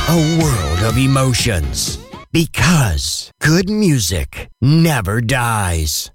A world of emotions. Because good music never dies.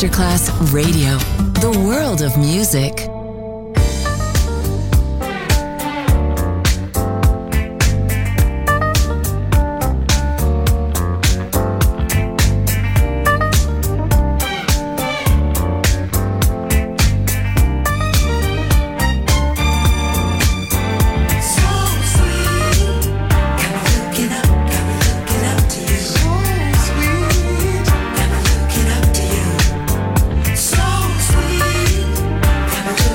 Masterclass Radio, the world of music. So sweet,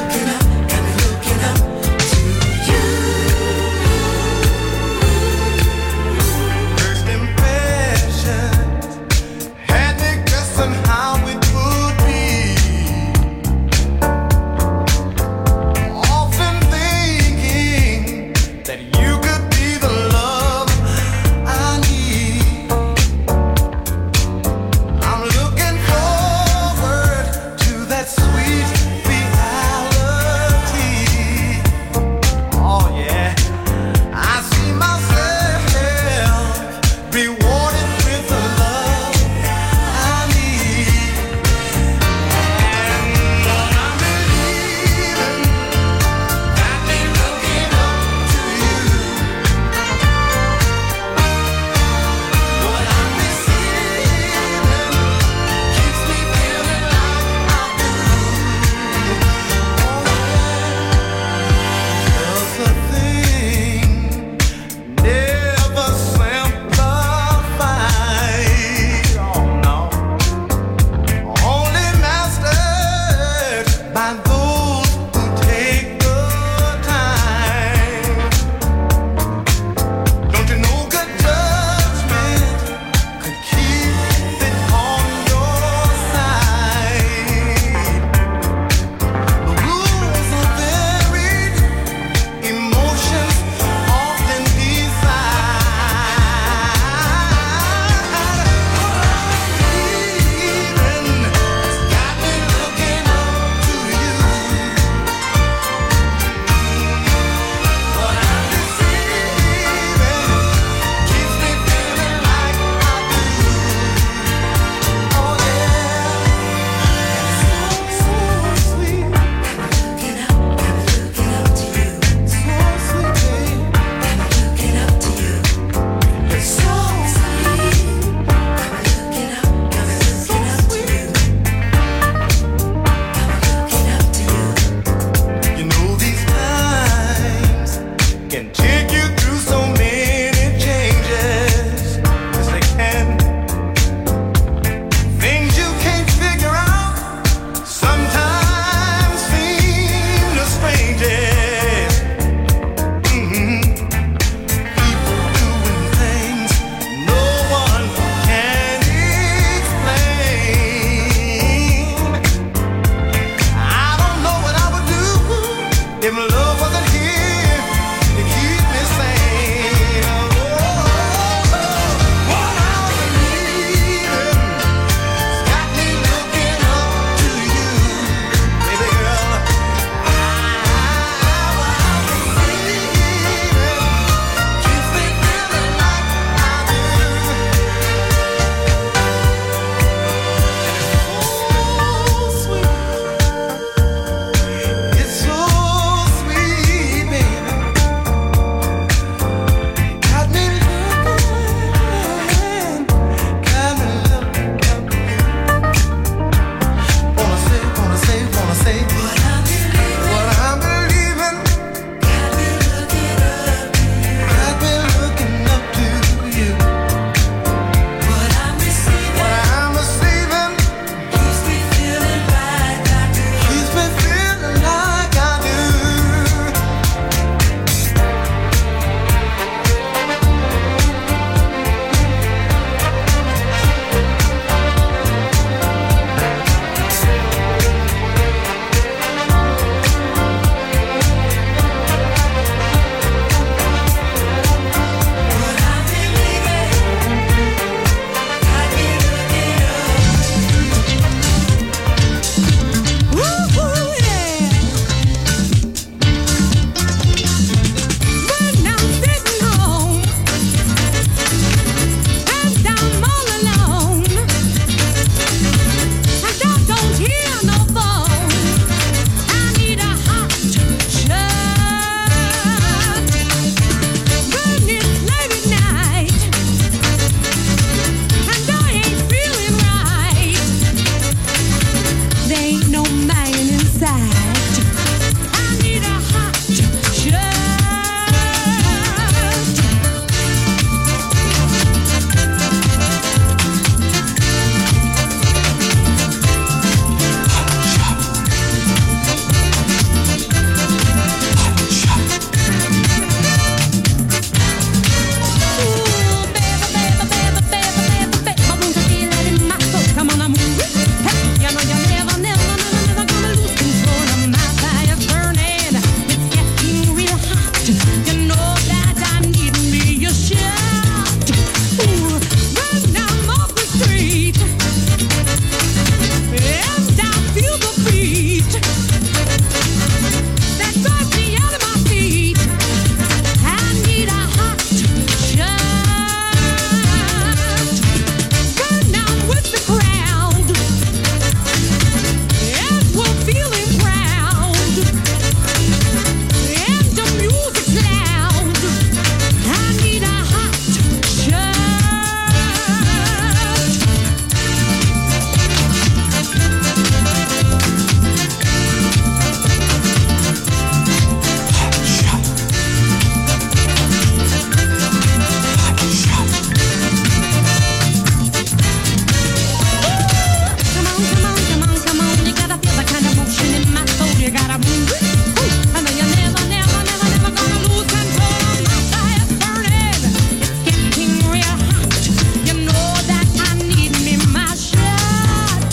you gotta move it. I know you're never gonna lose control of my fire burning. It's getting real hot. You know that I need me my shot.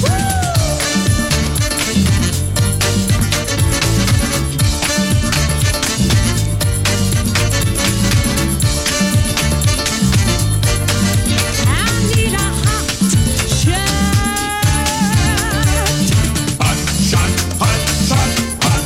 I need a hot shot. Hot shot, hot shot, hot.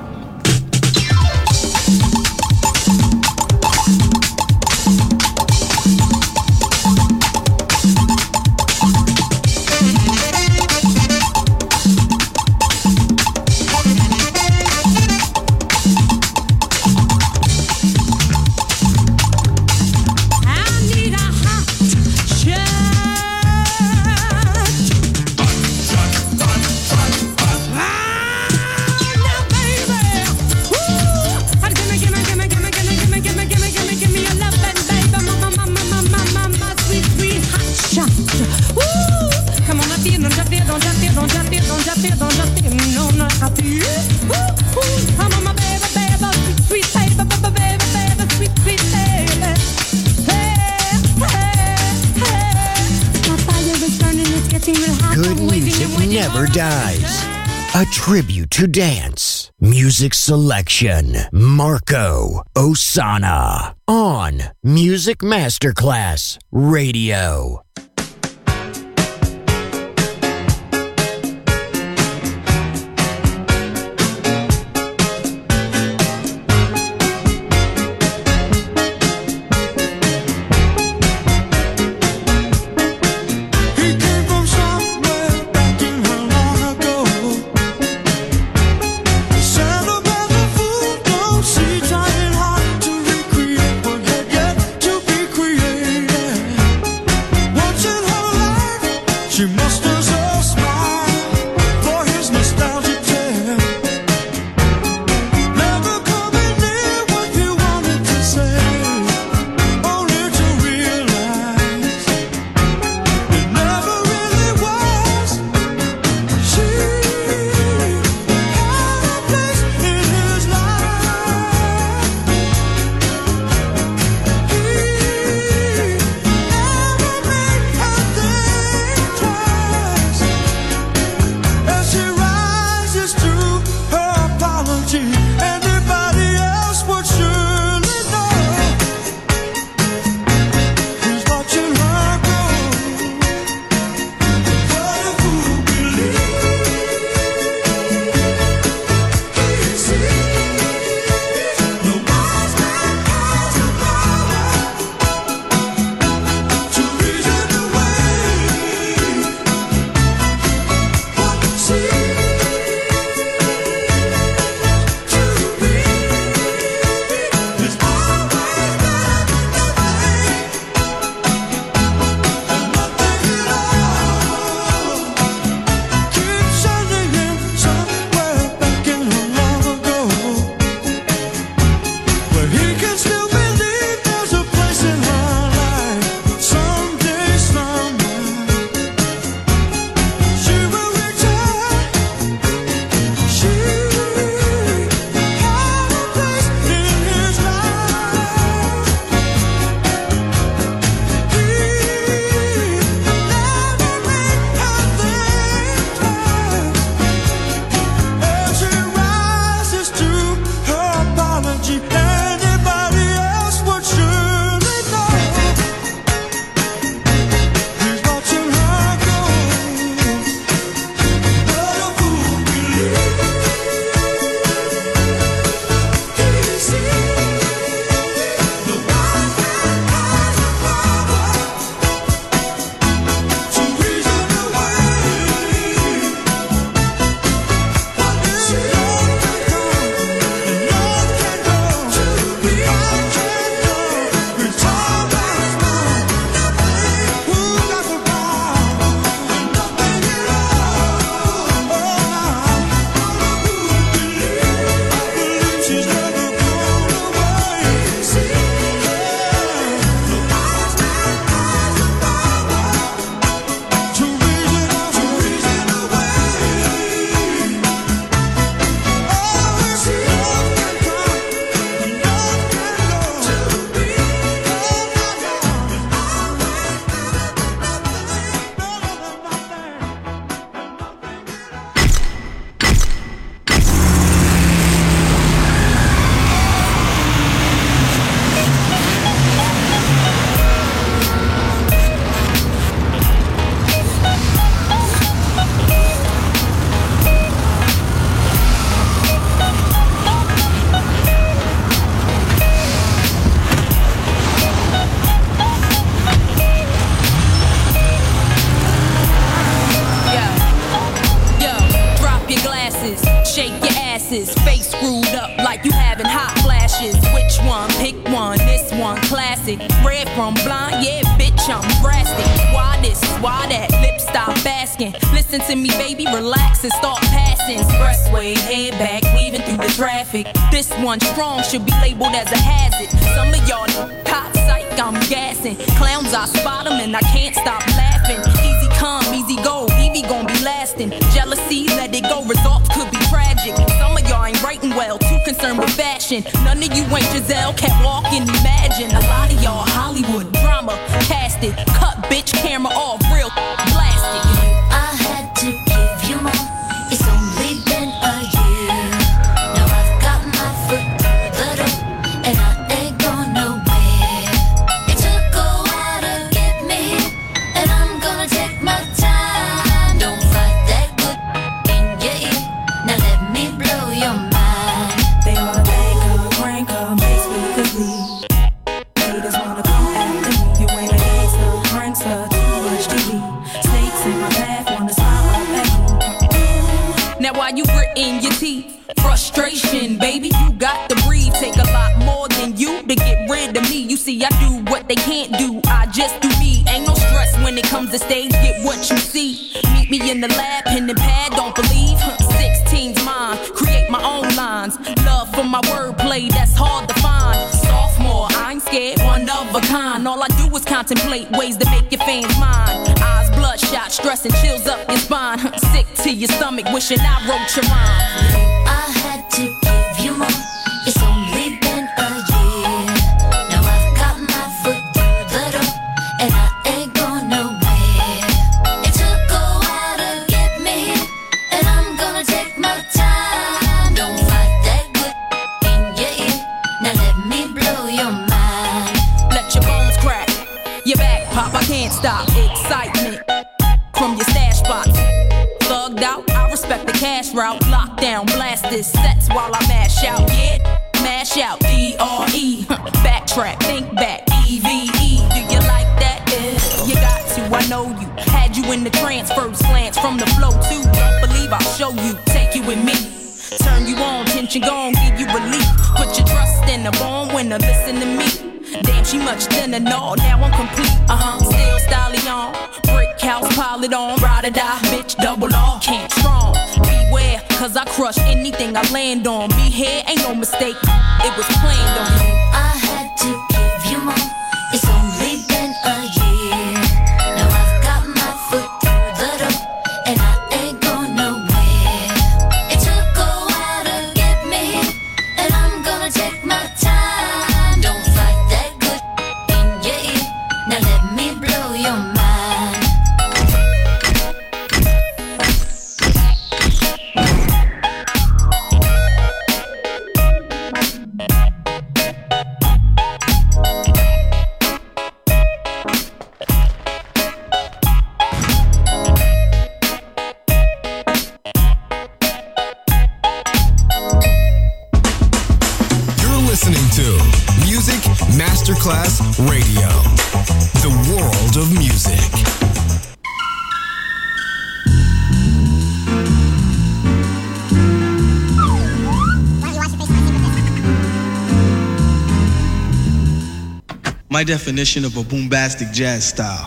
I need a hot shot. Now, baby, give me your love, baby, my sweet hot shot. Come on, don't you feel, no, I feel. Come on, my baby, sweet baby, sweet baby. Hey, my fire is burning, it's getting real hot. Good I'm waiting music and waiting never for dies. A tribute to dance. Music selection. Marco Ossanna. On Music Masterclass Radio. He came from somewhere back in how long ago. Said about the fool, don't see, trying hard to recreate what had yet to be created. glasses, shake your asses, face screwed up like you having hot flashes. Which one? Pick one, this one classic. Red from blind, yeah, bitch, I'm drastic. Why this, why that, lips stop asking. Listen to me, baby, relax and start passing. Expressway, head back, weaving through the traffic. This one strong should be labeled as a hazard. Some of y'all hot psych, I'm gassing. Clowns, I spot them and I can't stop laughing. Easy come, easy go, Evie gon' be lasting. Jealousy, let it go, results could be tragic. Some of y'all ain't writing well, too concerned with fashion. None of you ain't Giselle, can't walk and imagine. A lot of y'all Hollywood drama, cast it. Cut bitch camera off, real blasted. I had to give you more. It's only been a year. Now I've got my foot through the door, and I ain't going nowhere. It took a while to get me, and I'm gonna take my time. Don't fight that good in your ear. Now let me blow your mind. They wanna make her, crank her, make speakers leave. Haters wanna come after me. You ain't a gangster, prankster, too much TV. Snakes in my path, wanna smile up at me. Now why you gritting your teeth? Frustration, baby, you got to breathe. Take a lot more than you to get rid of me. You see, I do what they can't do. I just do me. Ain't no stress when it comes to stage. Get what you see. Meet me in the lab, pen and pad. Don't believe 16's mine. Create my own lines. Love for my wordplay, that's hard to find. Sophomore, I ain't scared, one of a kind. All I do is contemplate ways to make your fans mine. Eyes bloodshot, stress and chills up your spine. Sick to your stomach, wishing I wrote your rhyme. I had to give you more. It's only been a year. Now I've got my foot through the door, and I ain't going nowhere. It took a while to get me, and I'm gonna take my time. Don't fight that good in your ear. Now let me blow your mind. Let your bones crack, your back pop, I can't stop. Excitement from your stash spots. Thugged out, I respect the cash route. Lockdown, blast this sets while I mash out. Yeah, mash out, D-R-E. Backtrack, think back, E-V-E. Do you like that? Yeah, you got to, I know you. Had you in the trance, first glance from the flow too. Don't believe I'll show you, take you with me. Turn you on, tension gone, give you relief. Put your trust in the born winner, listen to me. Damn, she much thinner, no, now I'm complete. Still stallion, brick house, pile it on. Ride or die, bitch, double R, can't strong. Beware, cause I crush anything I land on. Be here, ain't no mistake, it was planned on. I had to give you more. It's only been a year. Now I've got my foot through the door, and I ain't going nowhere. It took a while to get me, and I'm gonna take my time. Don't fight that good in your ear. Now let me blow your mind. Listening to Music Masterclass Radio, the world of music. My definition of a boombastic jazz style.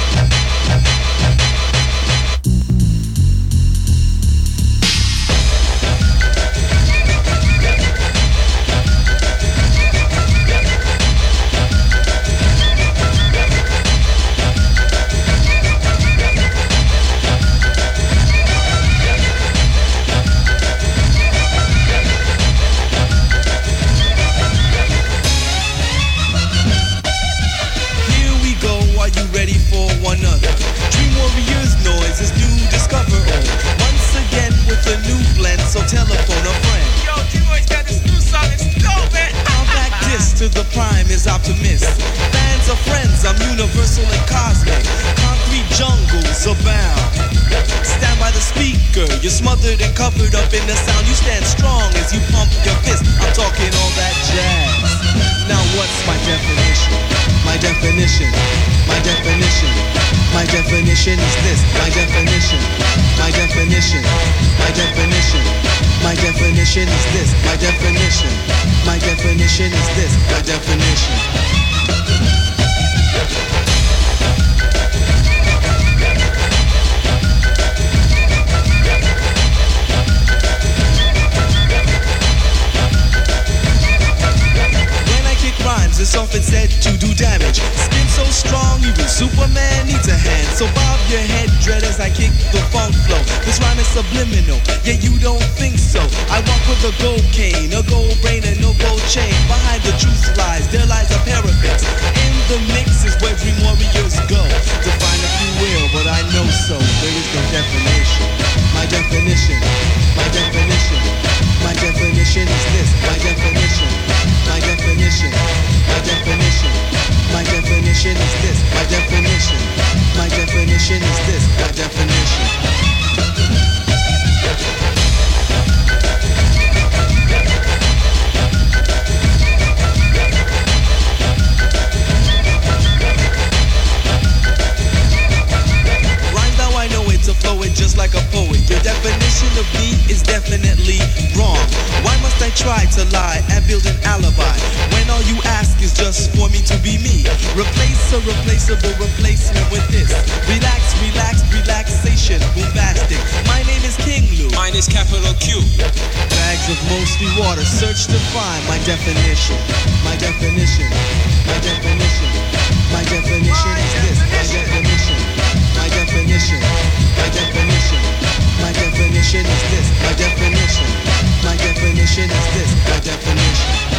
You're smothered and covered up in the sound. You stand strong as you pump your fist. I'm talking all that jazz. Now what's my definition? My definition. My definition. My My definition is this. My definition. My definition. My definition. My definition is this. My definition. My definition is this. My definition. Rhymes is often said to do damage. Skin so strong, even Superman needs a hand. So bob your head, dread, as I kick the funk flow. This rhyme is subliminal, yet you don't think so. I walk with a gold cane, a gold brain, and no gold chain. Behind the truth lies, there lies a parapet. In the mix is where dream warriors go. Define if you will, but I know so. There is no definition. My definition. My definition. My definition is this. My definition. My definition. My definition. My definition is this. My definition. My definition is this. My definition. Rhymes now I know it to flow it just like a poet. Your definition of me is definitely wrong. Why must I try to lie and build an alibi when all you ask is just for me to be me? Replace a replaceable replacement with this. Relax, relax, relaxation, bombastic. My name is King Lou. Mine is capital Q. Bags of mostly water, search to find my definition. My definition. My definition. My definition is this. My definition. My definition. My definition. My definition is this. My definition. My definition is this. My definition.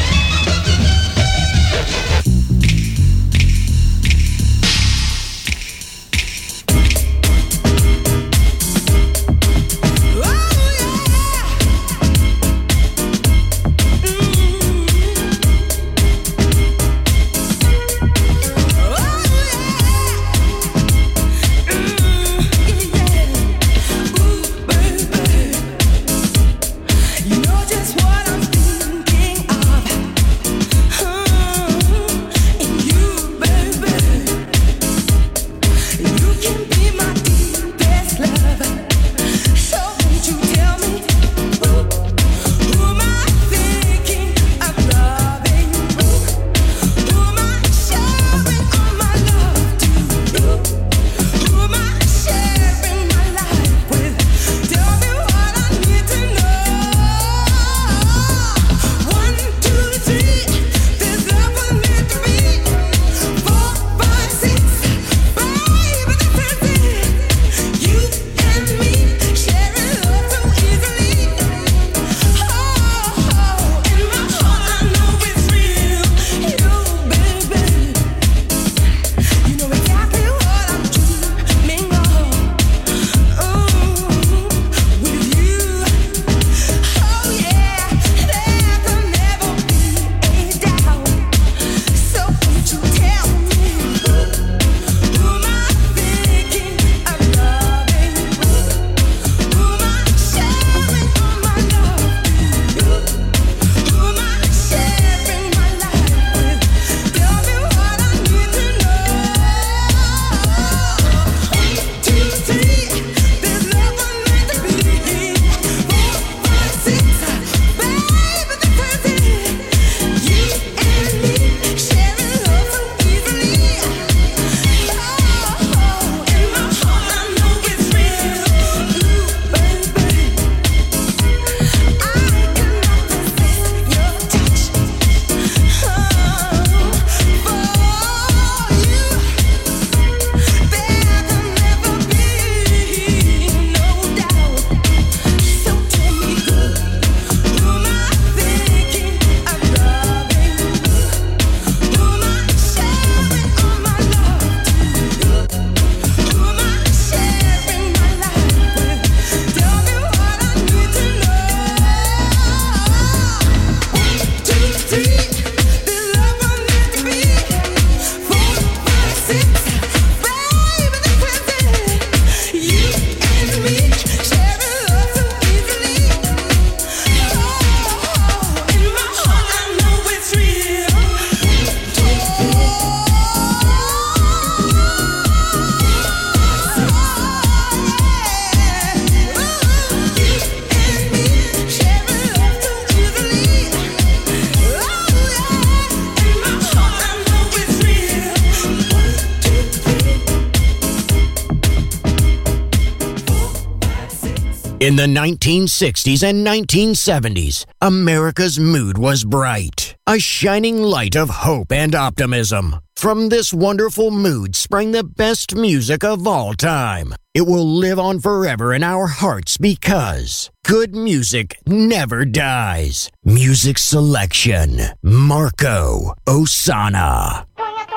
In the 1960s and 1970s, America's mood was bright, a shining light of hope and optimism. From this wonderful mood sprang the best music of all time. It will live on forever in our hearts because good music never dies. Music selection, Marco Ossanna.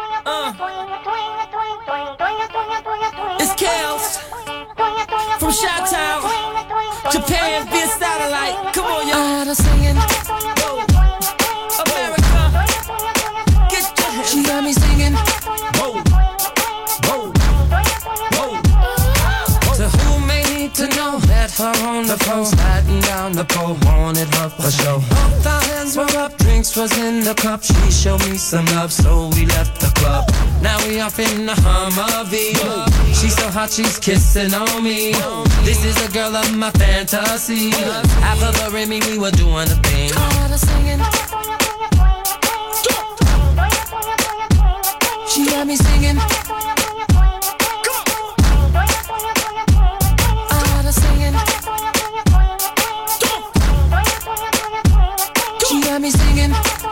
It's Kels from Chi-Town, Japan via satellite. Come on, y'all. Singing. America, get your hands. She got me singing. Whoa, whoa, whoa. To who may need to know, met her on the phone, sliding down the pole, wanted her for show. Both our hands were up, drinks was in the cup. She showed me some love, so we left the club. Now we off in the Humvee. She's so hot, she's kissing on me. This is a girl of my fantasy. Half of her and me, we were doing a thing. Singing. She got me singing. Singing. She got me singing.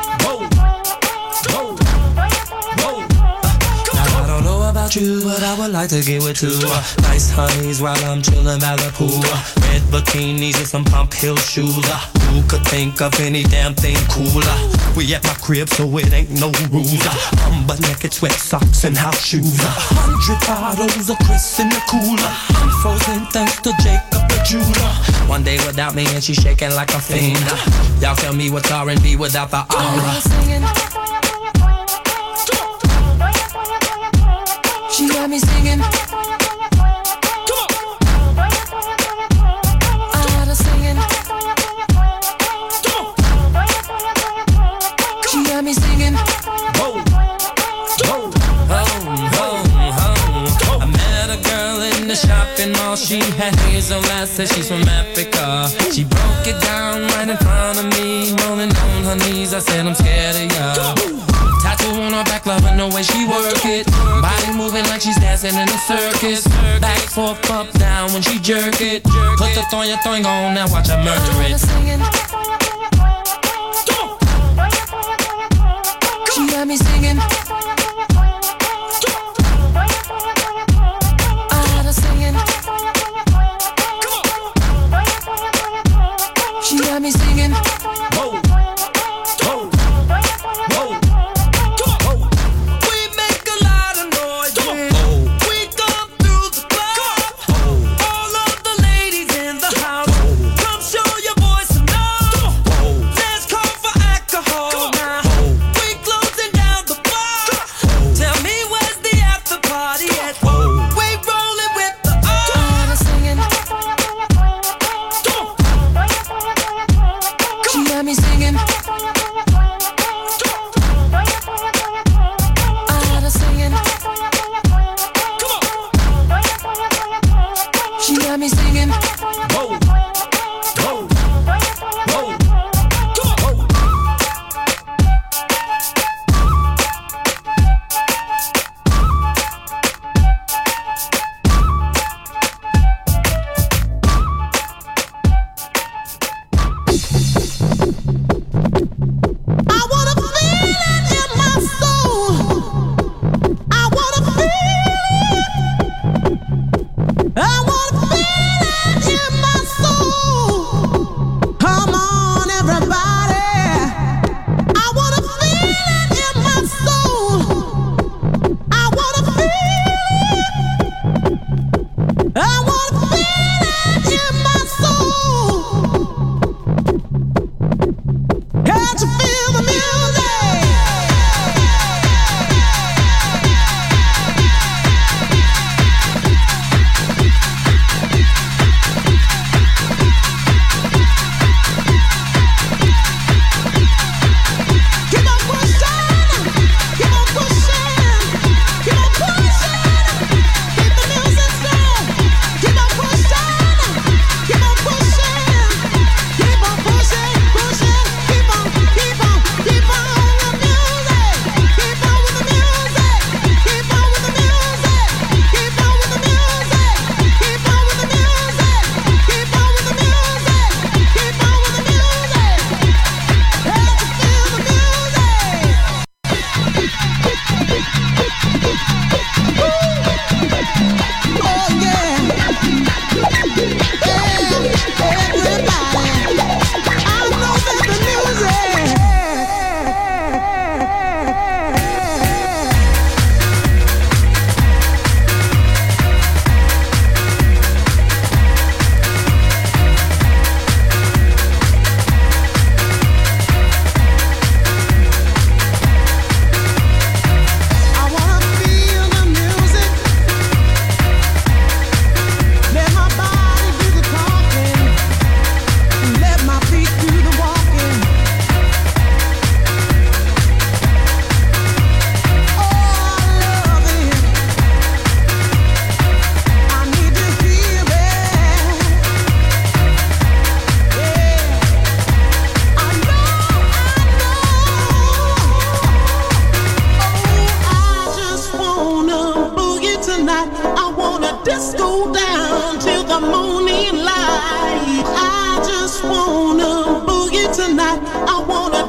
You, but I would like to get with two nice honeys while I'm chillin' by the pool. Red bikinis and some pump heel shoes. Who could think of any damn thing cooler? We at my crib, so it ain't no rules. I'm butt naked, sweat socks and house shoes. 100 bottles of Chris in the cooler. I'm frozen thanks to Jacob the jeweler. One day without me and she's shaking like a fiend. Y'all tell me what's R&B without the aura. She got me singing. Come on. Singing. Come on. She got me singing. Whoa. Whoa. I met a girl in the shopping mall. She had hazel eyes, said she's from Africa. She broke it down right in front of me, rolling on her knees. I said I'm scared of y'all. Tattoo on her back, loving the way she work it. Body moving like she's dancing in a circus. Back, forth, up, down when she jerk it. Put the thing on, now watch her murder it. She got me singing. She got me singing. Whoa.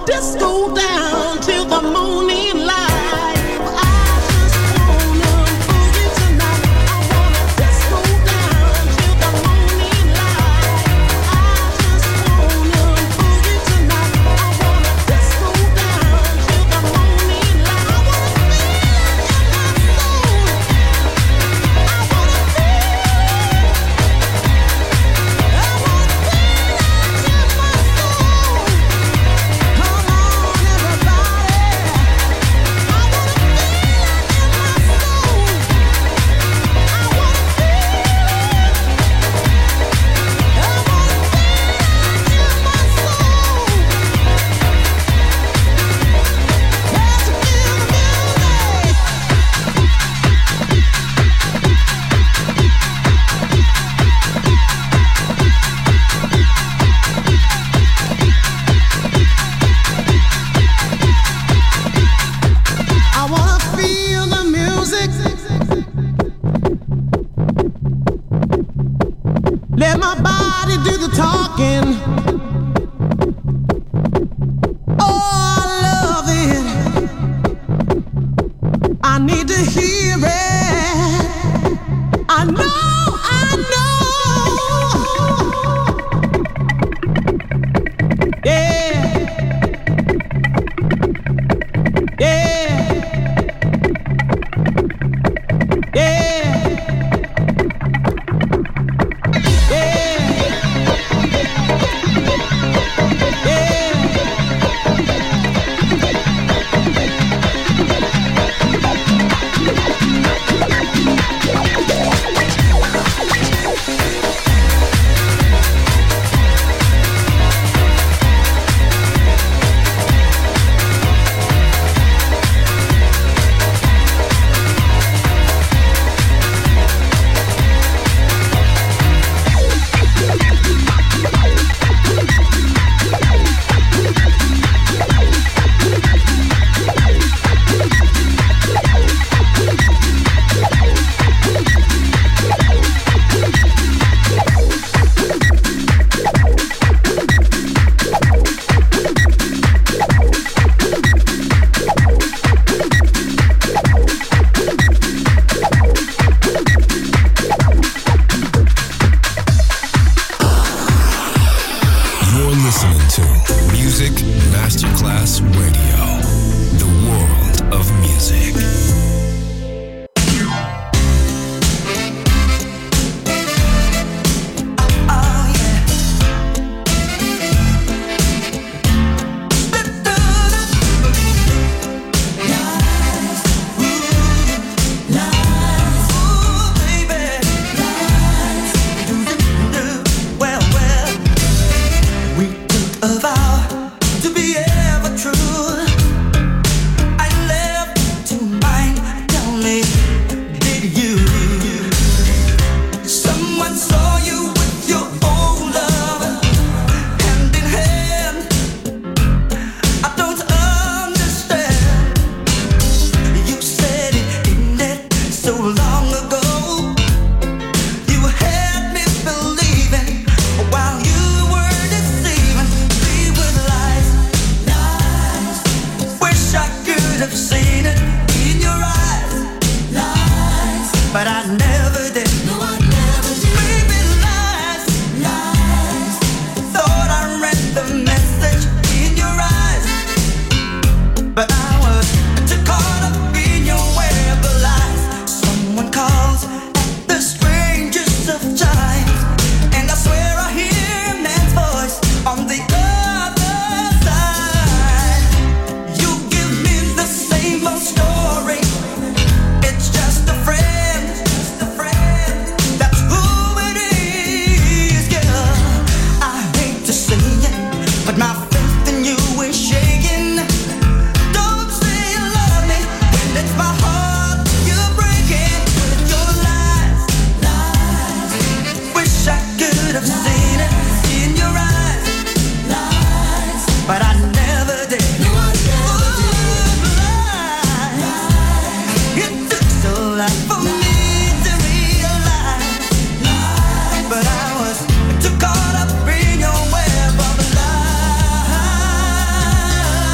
disco down till the morning light. I just wanna boogie tonight. I wanna disco down till the morning light. I just wanna boogie tonight. I wanna disco down till the morning light. I wanna feel it in my soul. I wanna feel it. I wanna feel it in my soul. Come on, everybody. I wanna feel it in my soul. I wanna feel it. I wanna feel it in my soul. Can't you feel the music? I wanna feel the music. Let my body do the talking. Oh, I love it. I need to hear it. I know, I know. Yeah. Yeah. Yeah. You're listening to Music Masterclass Radio, the world of music. To be ever true, I left to mind. Tell me, did you? Someone saw you with your old love, hand in hand. I don't understand. You said it in it so long ago. You had me believing while you were deceiving me with lies. Wish I could have seen it in your eyes. Lies. But I never did. No, I never did. Baby, lies. Lies. Thought I read the message in your eyes. But I was too caught up in your web of lies. Someone calls at the strangest of times, and I swear I hear a man's voice on the other side. You give me the same old story. It's just a friend. That's who it is, girl. I hate to say it, but my faith in you is shaking. Don't say you love me when it's my heart you're breaking with your lies. Lies. Wish I could have seen it in your eyes. Lies. But I never did. No, I never did. Lies. It took so long for me to realize. Lies. But I was too caught up in your web of lies.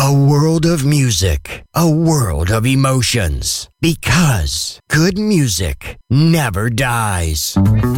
A world of music, a world of emotions. Because good music never dies.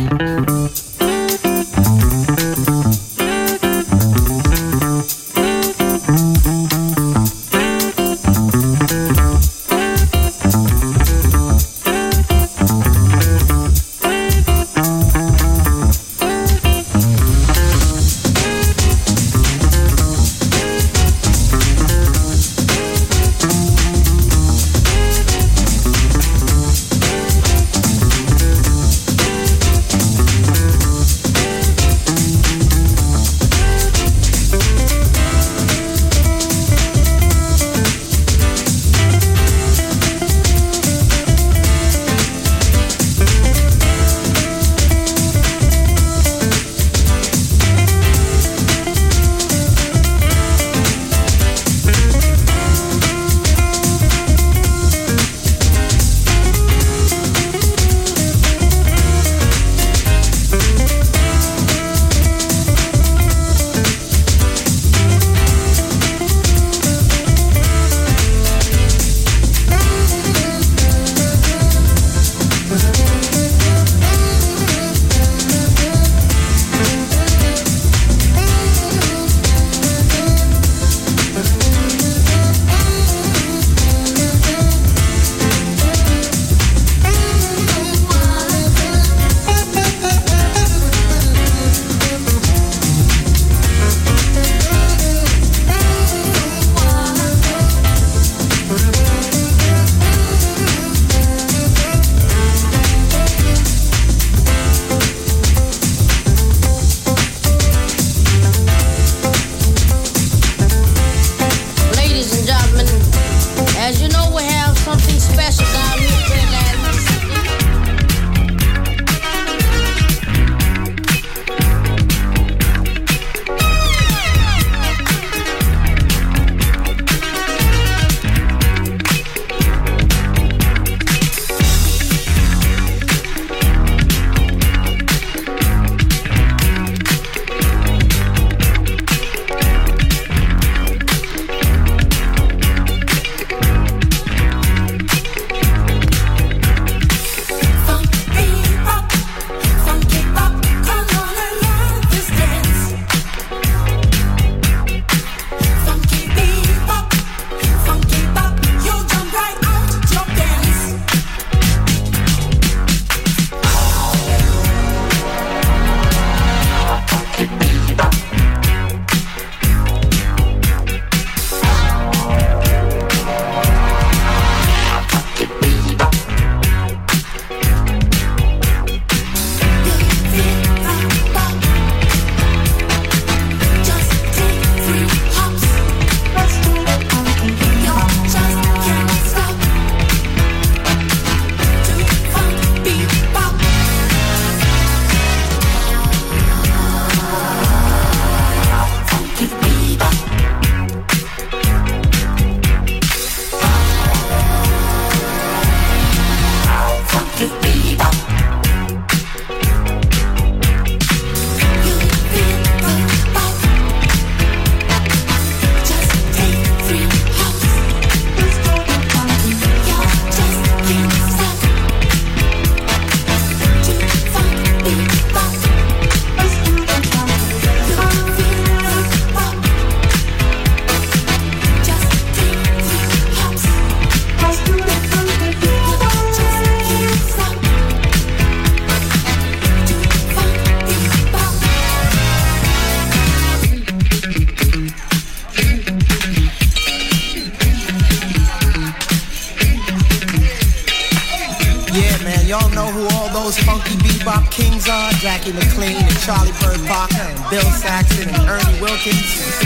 Y'all know who all those funky bebop kings are? Jackie McLean and Charlie Bird Parker and Bill Saxon and Ernie Wilkins.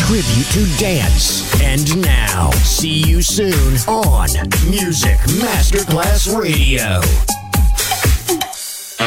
tribute to dance. And now, see you soon on Music Masterclass Radio.